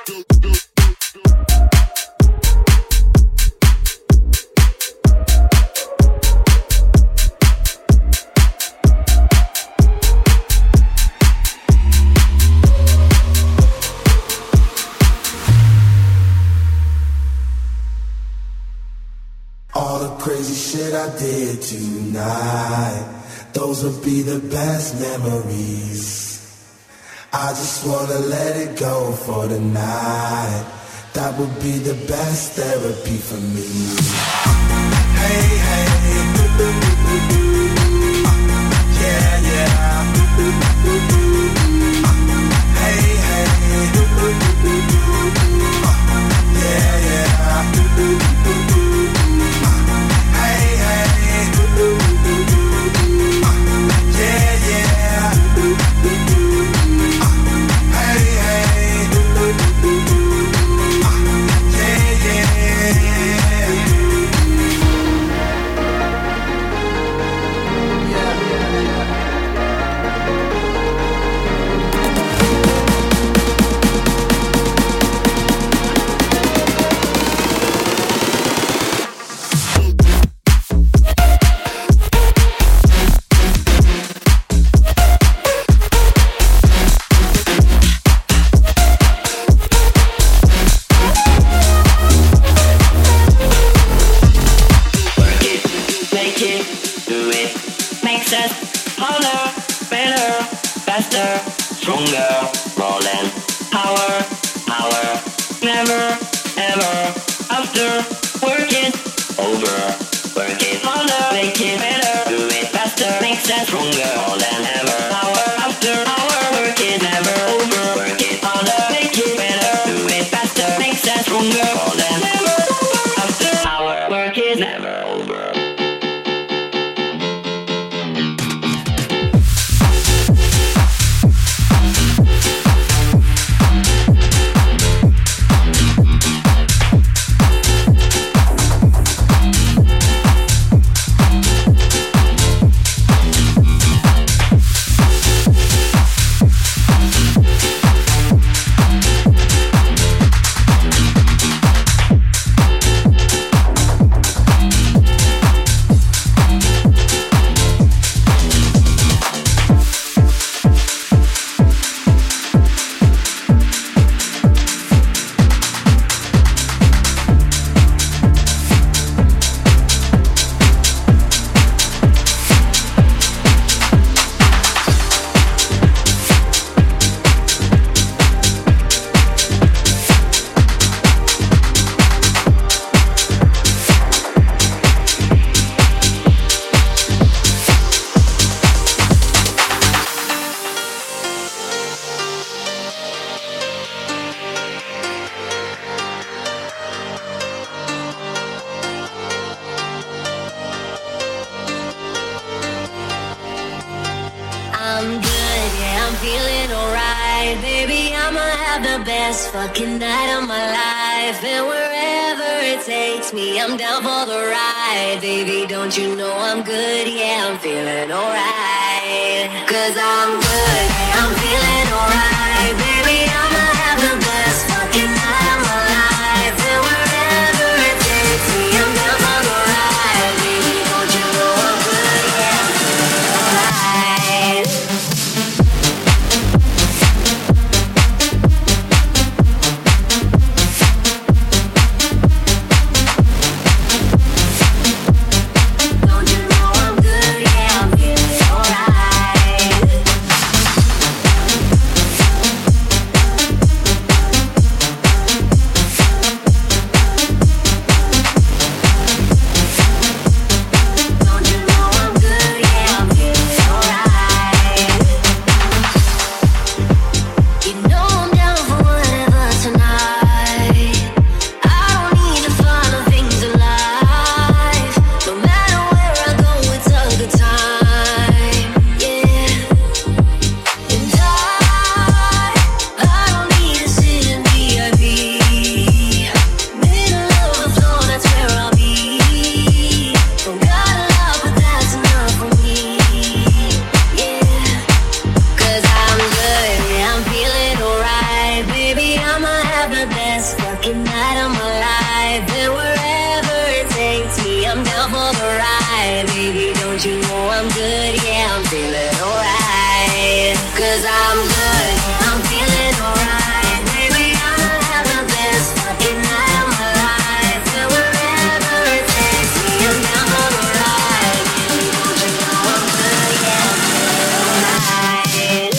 All the crazy shit I did tonight, those would be the best memories. I just wanna let it go for the night. That would be the best therapy for me. Hey, hey, yeah, yeah. Hey, hey, yeah, yeah. Hey, hey, yeah, yeah. Hey, hey, Fucking night of my life, and wherever it takes me, I'm down for the ride. Baby, don't you know I'm good? Yeah, I'm feeling alright. 'Cause I'm good, yeah, I'm feeling alright. Baby, I'ma have the best fucking night of my life, and wherever it takes me, I'm down for the ride. Baby, don't you know I'm good? Yeah, I'm feeling alright. have the best fucking night of my life. And wherever it takes me, I'm down for the ride. Baby, don't you know I'm good? Yeah, I'm feeling alright. 'Cause I'm good, I'm feeling alright. Baby, I'll have the best fucking night of my life. And wherever it takes me, I'm down for the ride. Baby, don't you know I'm good? Yeah, I'm feeling alright.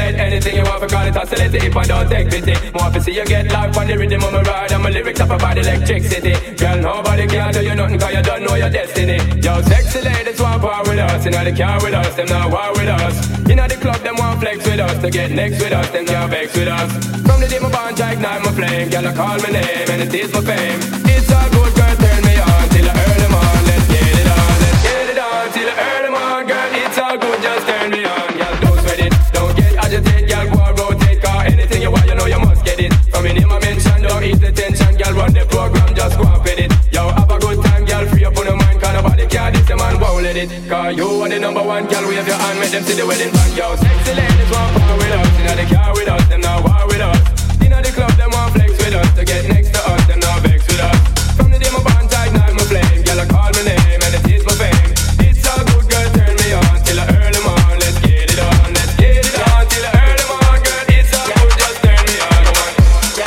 get anything you want, because it's oscillating if I don't take pity. More to see you get life on the rhythm of my ride, and my lyrics up about electricity. Girl, nobody can do you nothing, cause you don't know your destiny. Yo, sexy ladies want power with us, you know they car with us, them not war with us. You know the club, them want flex with us, to get next with us, them can't vex with us. From the day my bond, I ignite my flame, girl, I call my name, and it is my fame. It's all good, girl, turn me on, till I earn them on, let's get it on, let's get it on, till I earn them on, girl, it's all good, just turn me on, girl, don't sweat it, don't get agitated, girl, go and rotate, cause anything you want, you know you must get it. From your name I mention, don't eat the tension, girl, run the program, just go and fit it. Yo, have a good time, girl, free up on your mind, cause nobody care, this your man won't let it. Cause you are the number one, girl, wave your hand, make them see the wedding band. Yo, sexy ladies want power with us, you know they car with us, them not war with us. You know the club, them want flex with us, to get next to us, them not vex with us. From the day my bond, I ignite my flame, girl, I call my name, and it is my fame. It's all good, girl, turn me on, till I earn them on, let's get it on, let's get it on, till I earn them on, girl, it's all good, just turn me on, come on.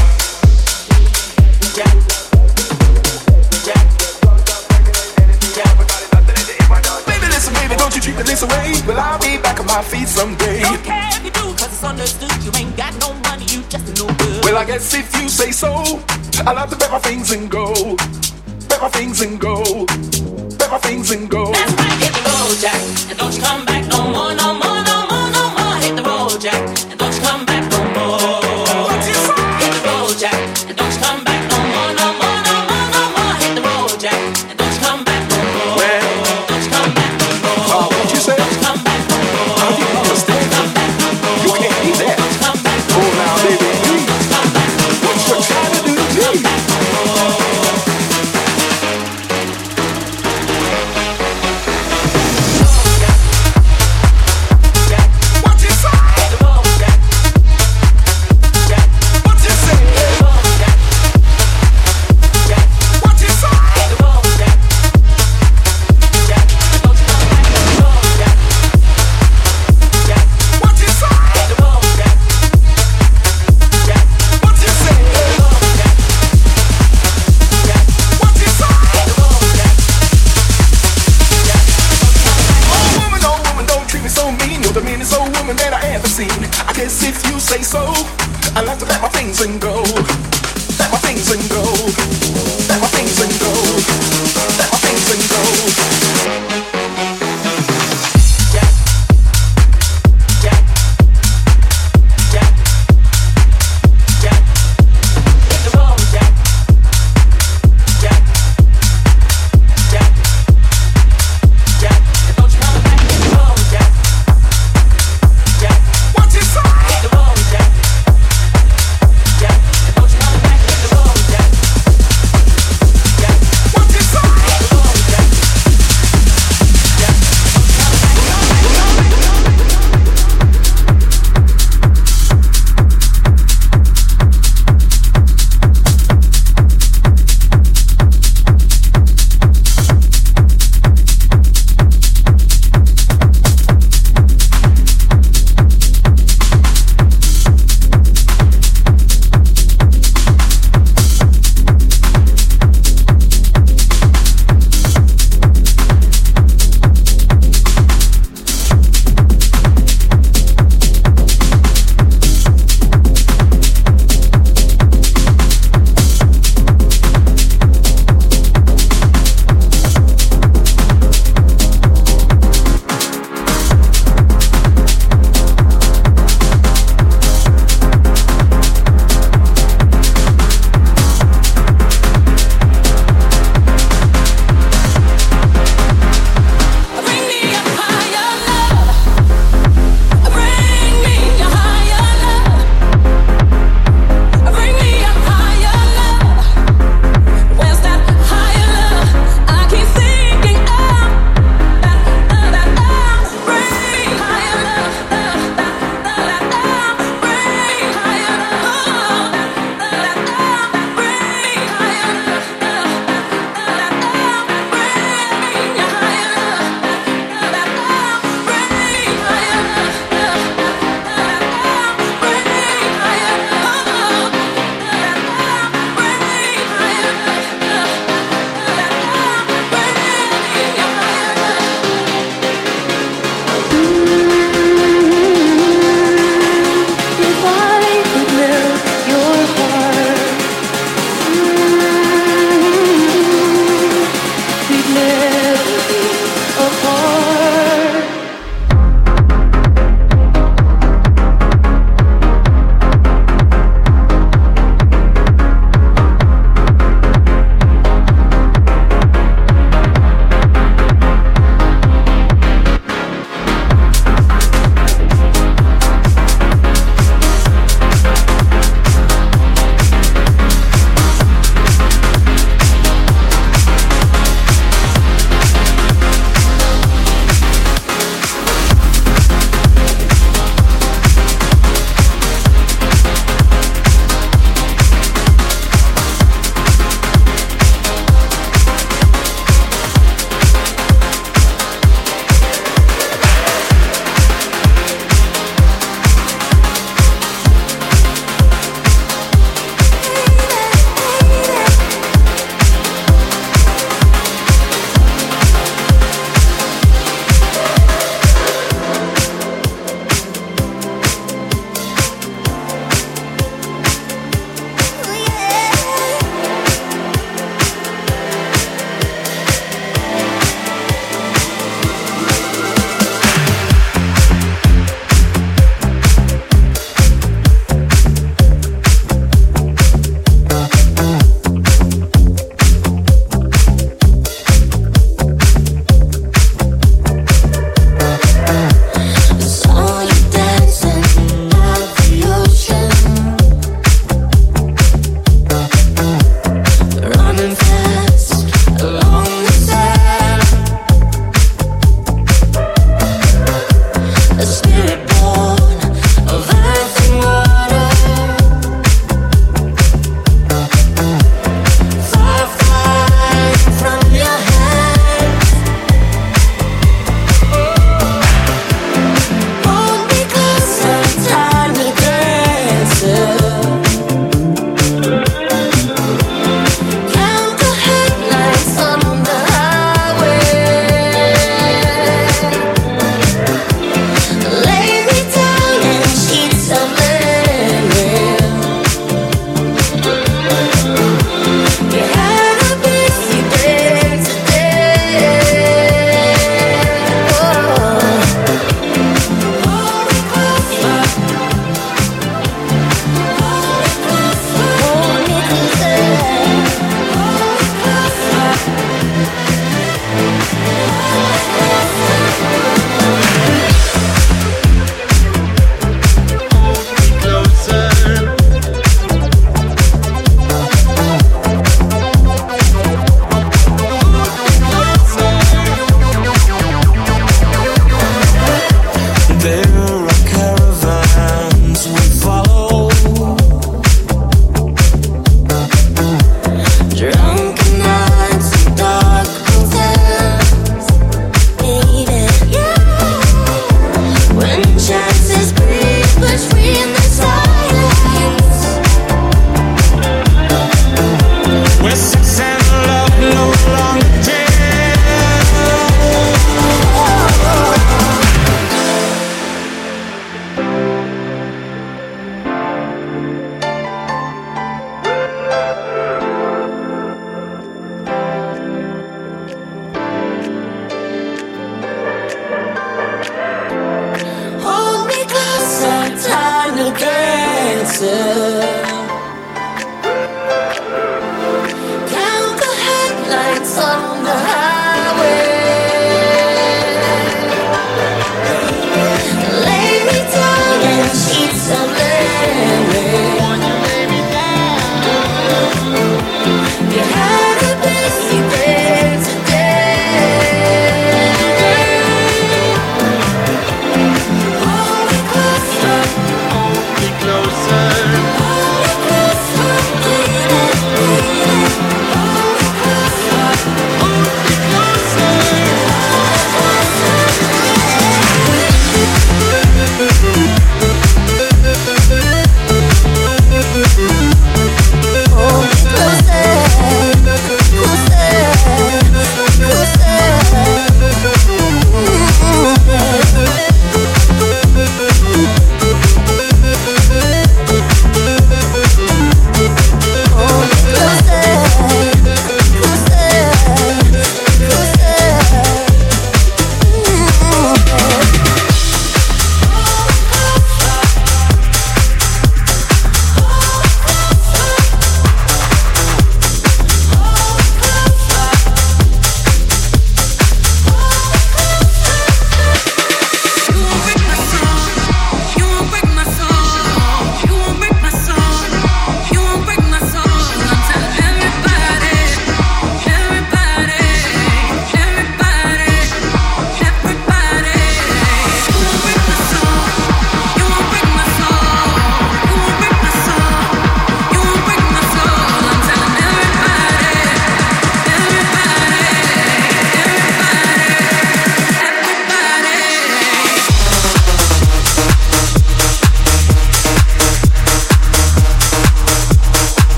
Baby, listen, baby, don't you treat me this way. Well, I'll be back on my feet someday. Don't care if you do, cause it's understood. You ain't got no money, you just no good. Well, I guess if you say so, I'll have to pack my things and go. Pack my things and go. Pack my things and go. That's right, hit the road, Jack, and don't you come back no more, no more, no more, no more. Hit the road, Jack, and don't you come back no more. Hit the road, Jack, and don't you come back no more, no more, no more, no more. Hit the road, Jack, and don't you come back no more. Well, don't you come back no more. what you say? Don't you come back no more. I didn't understand. Come back no more. You can't do that. Don't you come back no Oh, now, baby, come back no more. what you trying to do to me? I guess if you say so, I'll have to pack my things and go. Pack my things and go. Pack my things and go. Pack my things and go. Don't you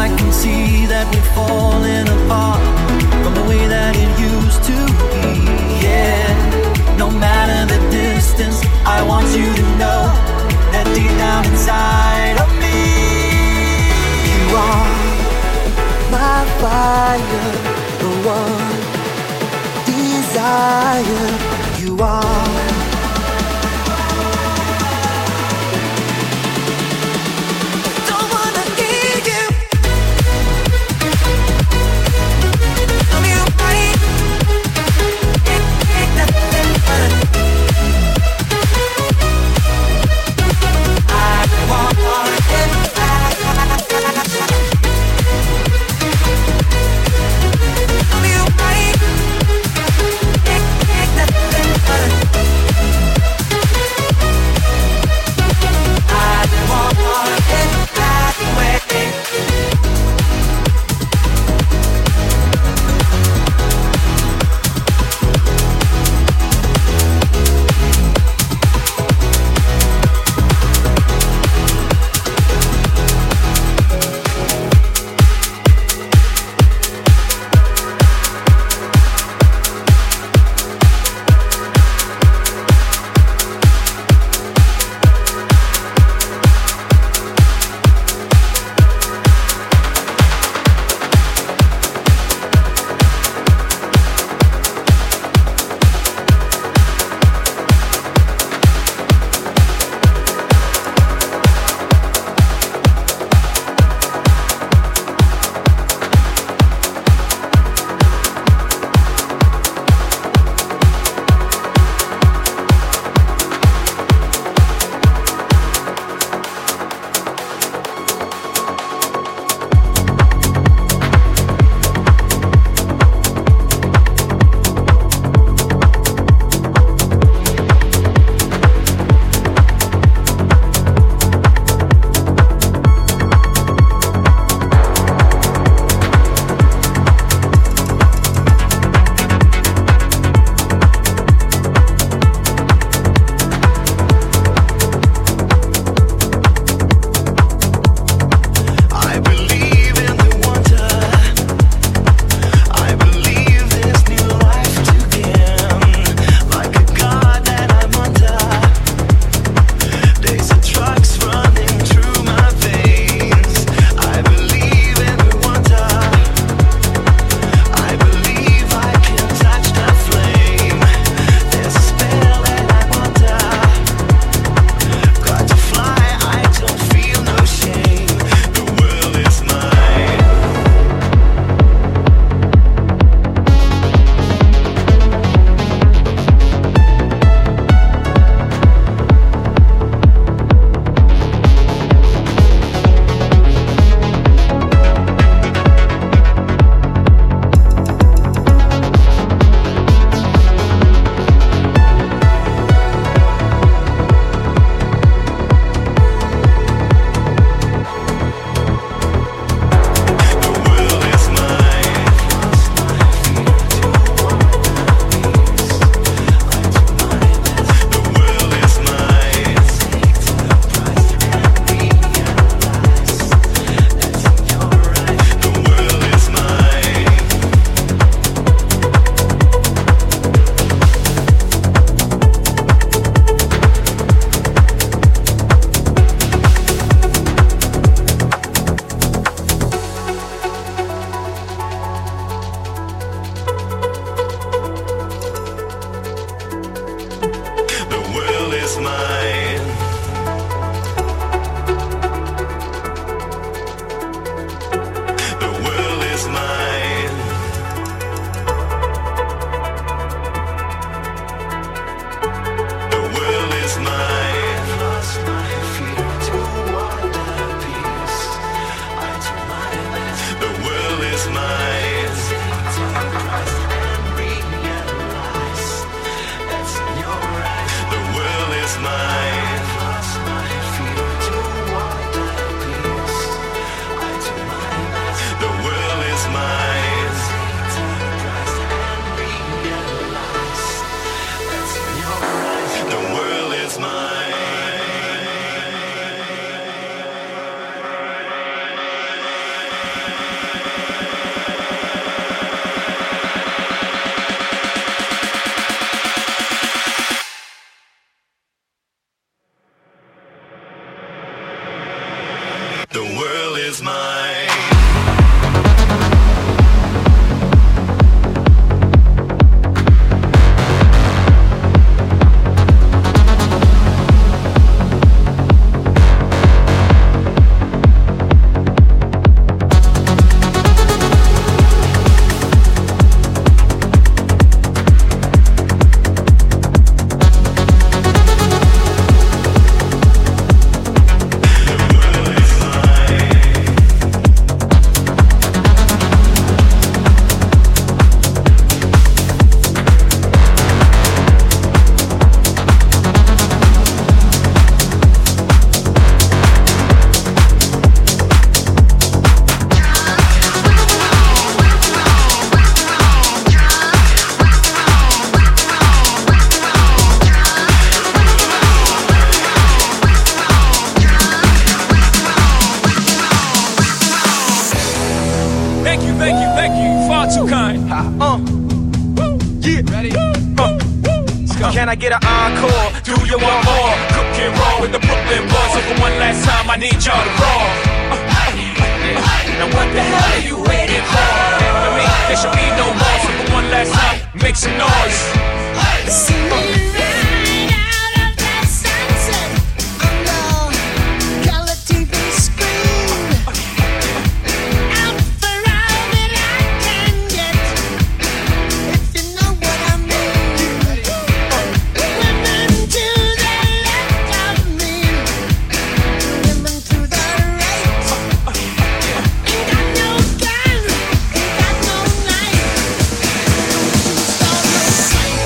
I can see that we're falling apart from the way that it used to be. Yeah, no matter the distance, I want you to know that deep down inside of me, you are my fire, the one desire. You are. Thank you, far too kind. Yeah. Ready? Can I get an encore? Do you want more? Cook and roll with the Brooklyn boys. So for one last time, I need y'all to roll. Now what the hell are you waiting for? For me, there should be no more. So for one last time, make some noise. See me right out of that sunset on the color TV screen. Out for all that I can get, if you know what I mean. Women to the left of me, women to the right. Ain't got no gun, ain't got no knife. Start a fight.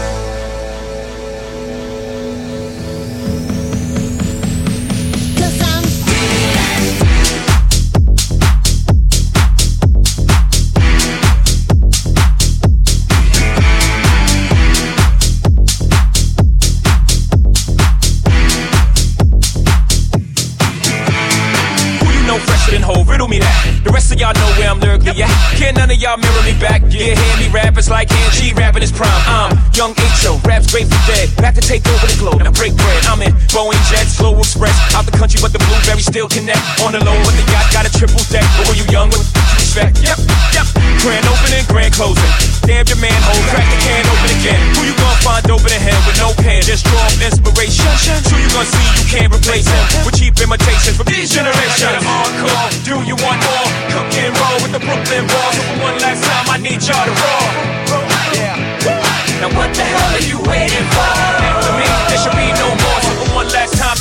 Riddle me that. The rest of y'all know where I'm lyrically at. Can't none of y'all mirror me back. Yeah, hear me rap, it's like hand G rapping his prime. I'm young H.O., raps Grateful Dead. Back to take over the globe, and I break bread. I'm in Boeing Jets, Flow Express. Out the country, but the blueberries still connect. On the low, but the yacht got a triple deck. But when you young, what you expect? Yep. Grand opening, grand closing. Damn your manhole, crack the can open again. Who you gonna find open in hell with no pen? Just draw up inspiration. Who you gonna see you can't replace him with cheap imitations from these generations. Encore, do you want more? Cook and roll with the Brooklyn Balls. So for one last time, I need y'all to roll. Yeah. Now what the hell are you waiting for? For me, there should be no more. So for one last time,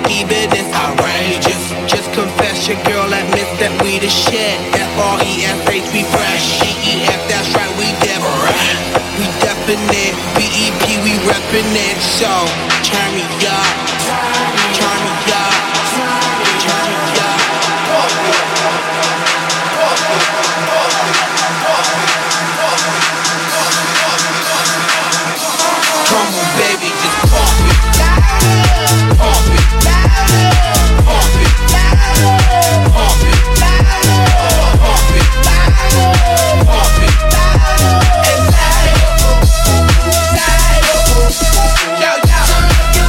evidence outrageous. Just confess your girl admits that we the shit. FRESH, we fresh. DEF, that's right, we different. We definite. BEP, we reppin' it. So, turn me up. Turn me up. Turn me up. Come on, baby, just pump it. Pump it. Pump it. Pump it. Pump it. Pump it. And yo, yo.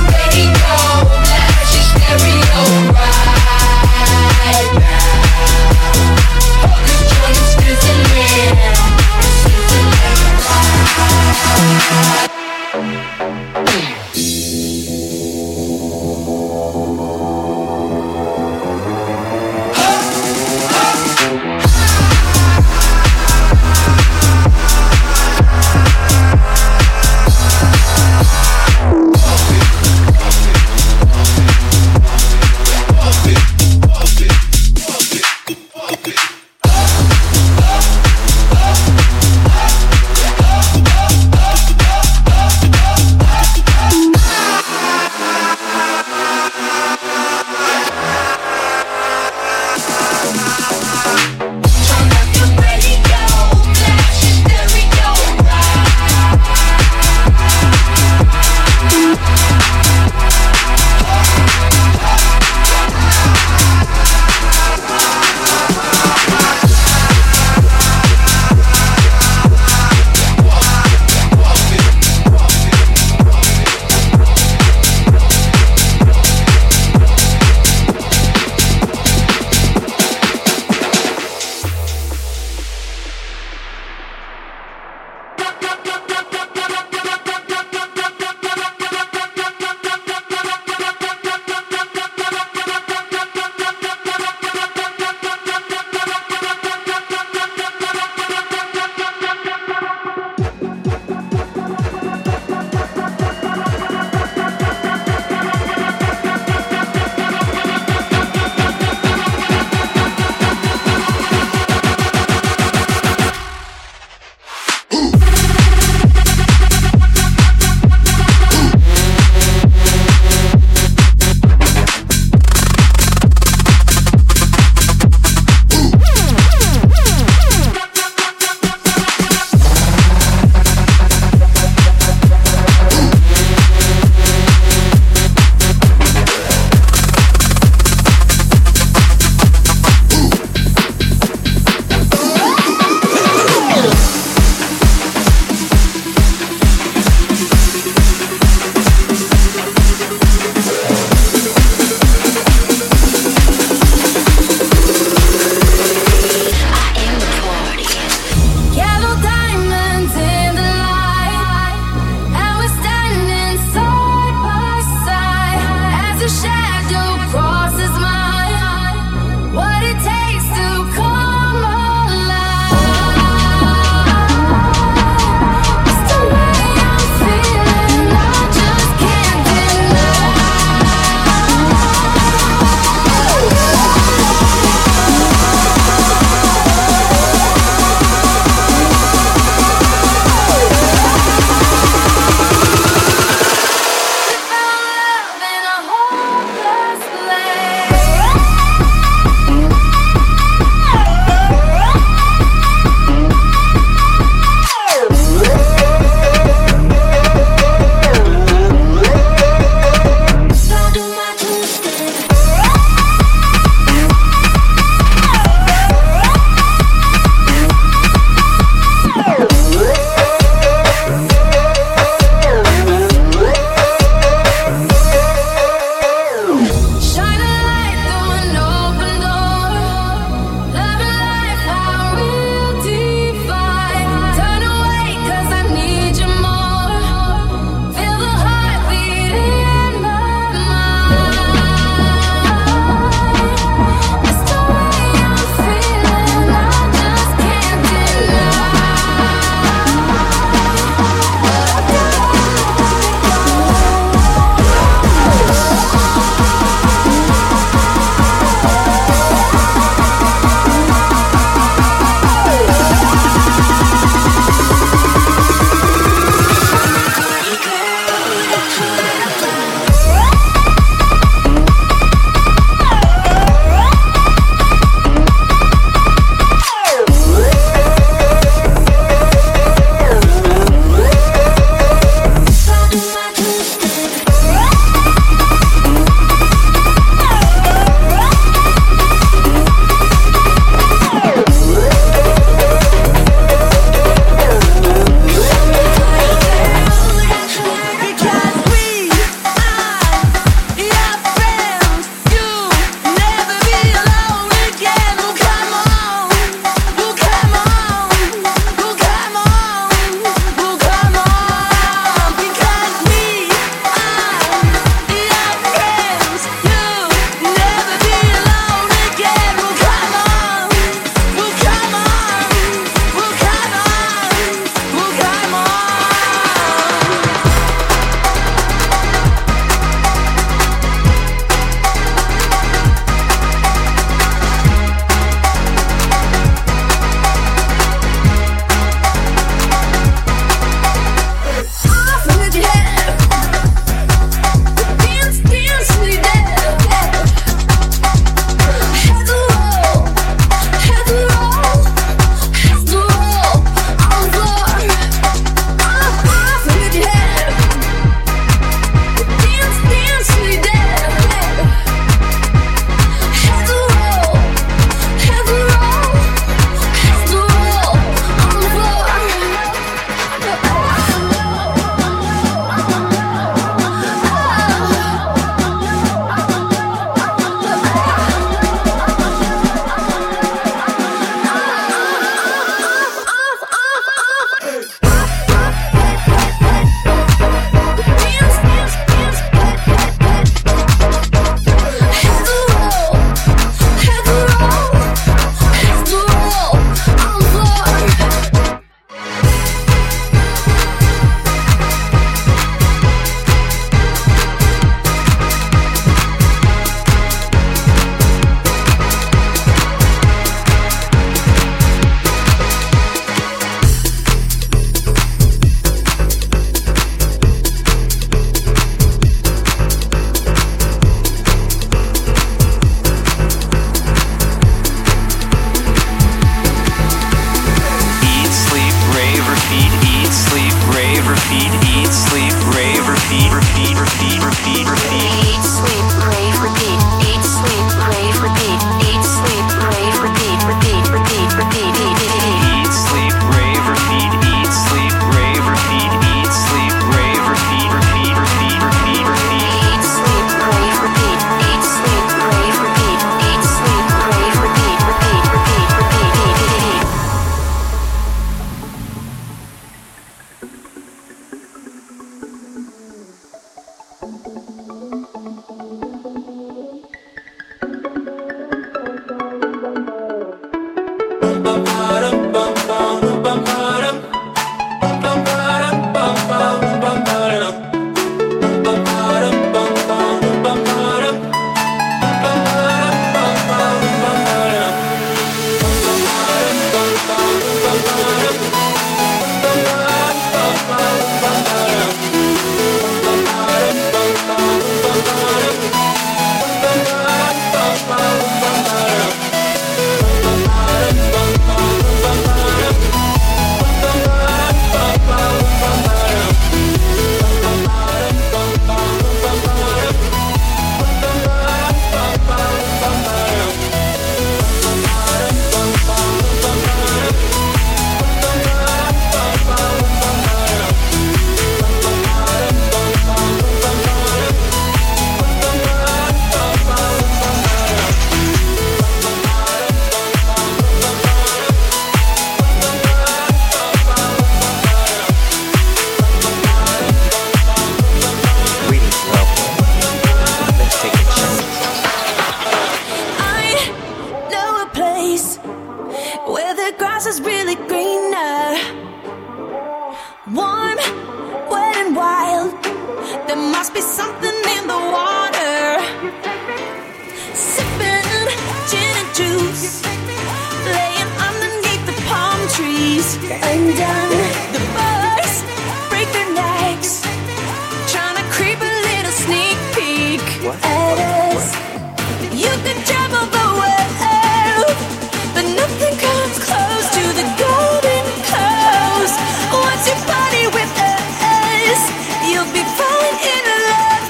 as you could travel the world, but nothing comes close to the golden coast. Once you party with us, you'll be falling in love.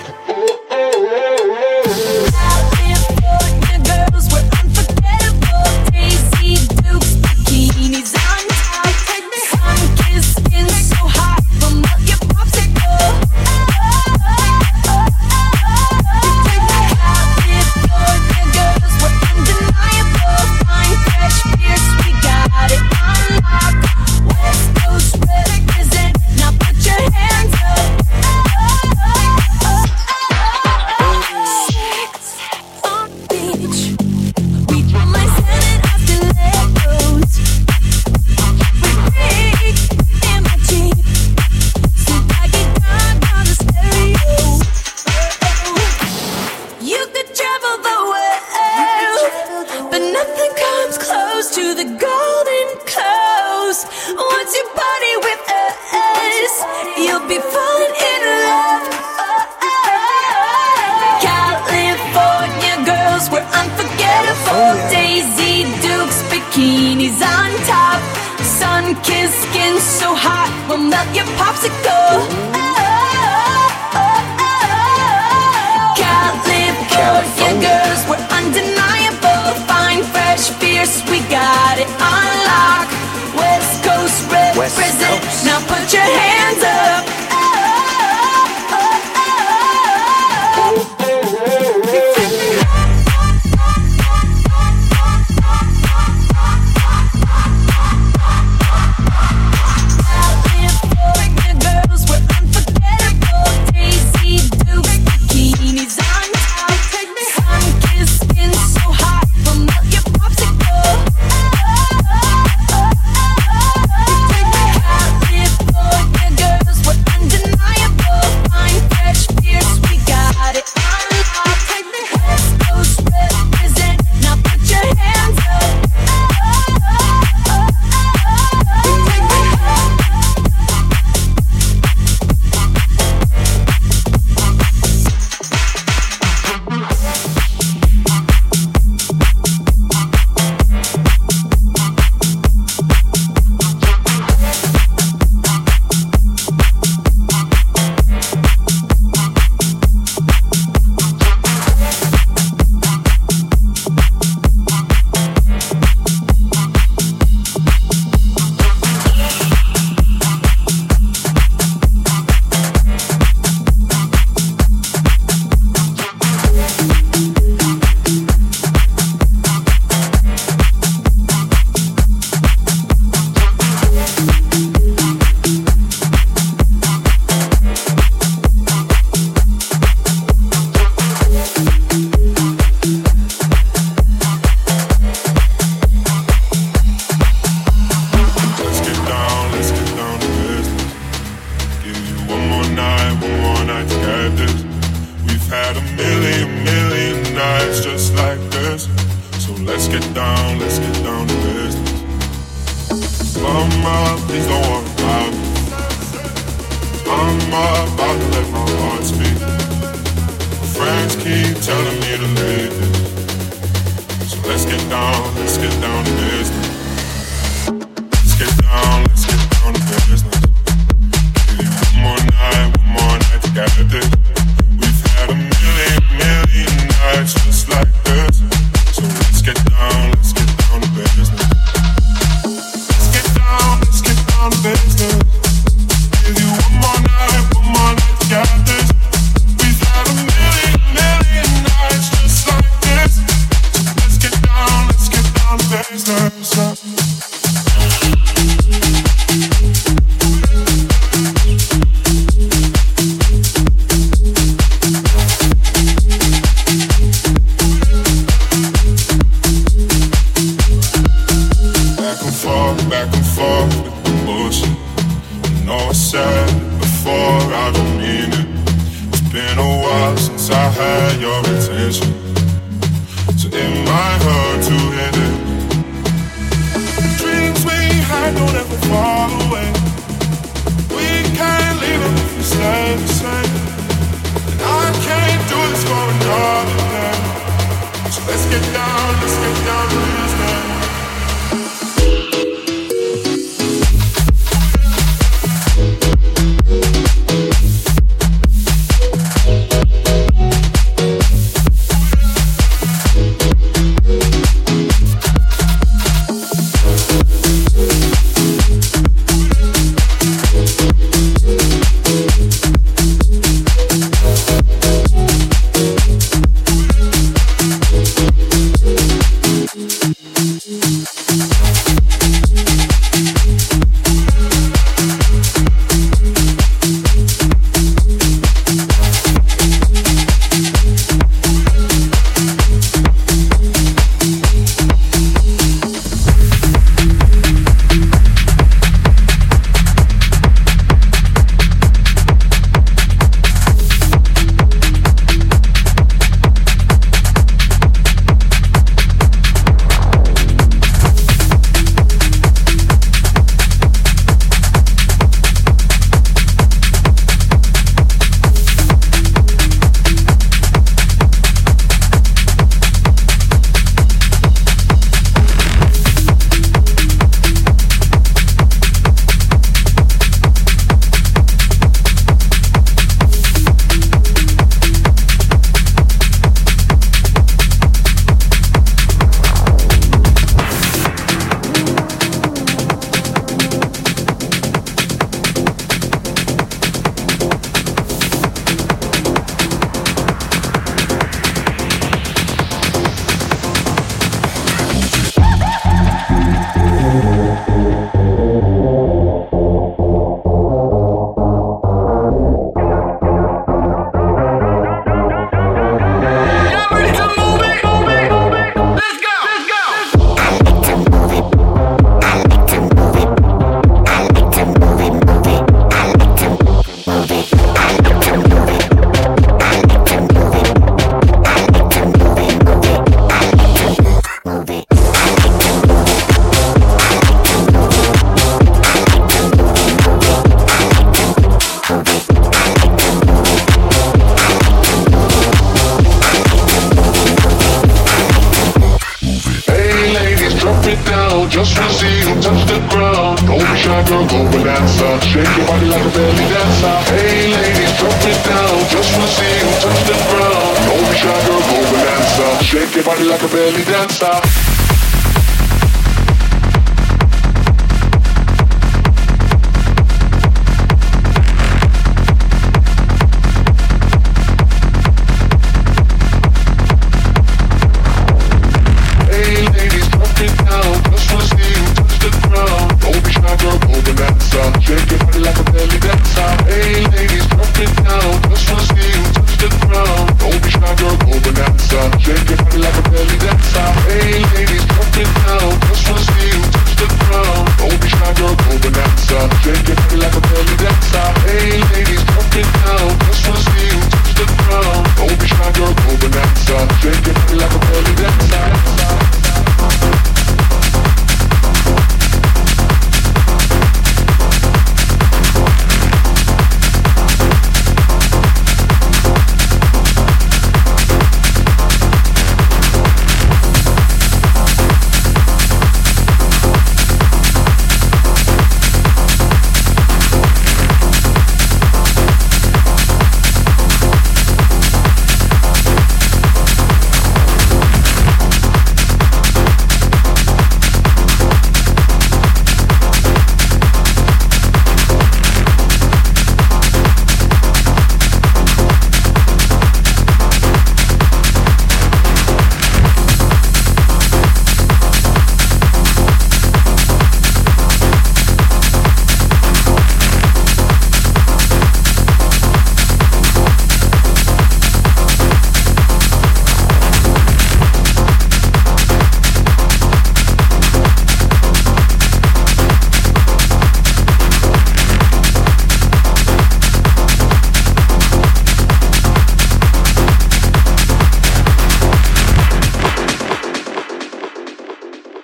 California girls were unforgettable. Daisy Dukes, bikinis on top. Sun-kissed skin so hot, will melt your popsicle. California girls were undeniable. Fine, fresh, fierce, we got it on lock. West Coast represent, now put your hands up. Sex on the beach, we put my sand on stilettos. We break in my Jeep, so I get down on the stereo. You could travel the world, but nothing comes close to the golden coast. Once you party with us, you'll be falling in love. California girls were unforgettable. Daisy Dukes, bikinis on top. Sun-kissed skin so hot, will melt your popsicle. California girls were undeniable. Fine, fresh, fierce, we got it on lock. West Coast represent, now put your hands up. California girls were unforgettable. Daisy Dukes, bikinis on top. Sun-kissed skin so hot, will melt your popsicle. California girls were undeniable. Fine, fresh, fierce, we got it on lock. West Coast represent, now put your hands up. Let's get down to business. Give you one more night to get this. We've had a million nights just like this. So let's get down to business. Mama, please don't worry about me. I'm about to let my heart speak. Friends keep telling me to leave this. So let's get down to business. Let's get down to business. Give you one more night to get this. We've had a million nights just like this. So let's get down to business. Let's get down to business. Give you one more night to get this. We've had a million nights just like this. So let's get down to business. Back and forth with the bullshit. I know I said it before, I don't mean it. It's been a while since I had your attention, so it might hurt to hit it. Dreams we had don't ever fall away. We can't leave them if we stay the same. And I can't do this for another. it down, just wanna see you touch the ground. Don't be shy, girl, go bonanza. Shake your body like a belly dancer. Hey ladies, drop it down, just wanna see you touch the ground. Don't be shy, girl, go bonanza. Shake your body like a belly dancer.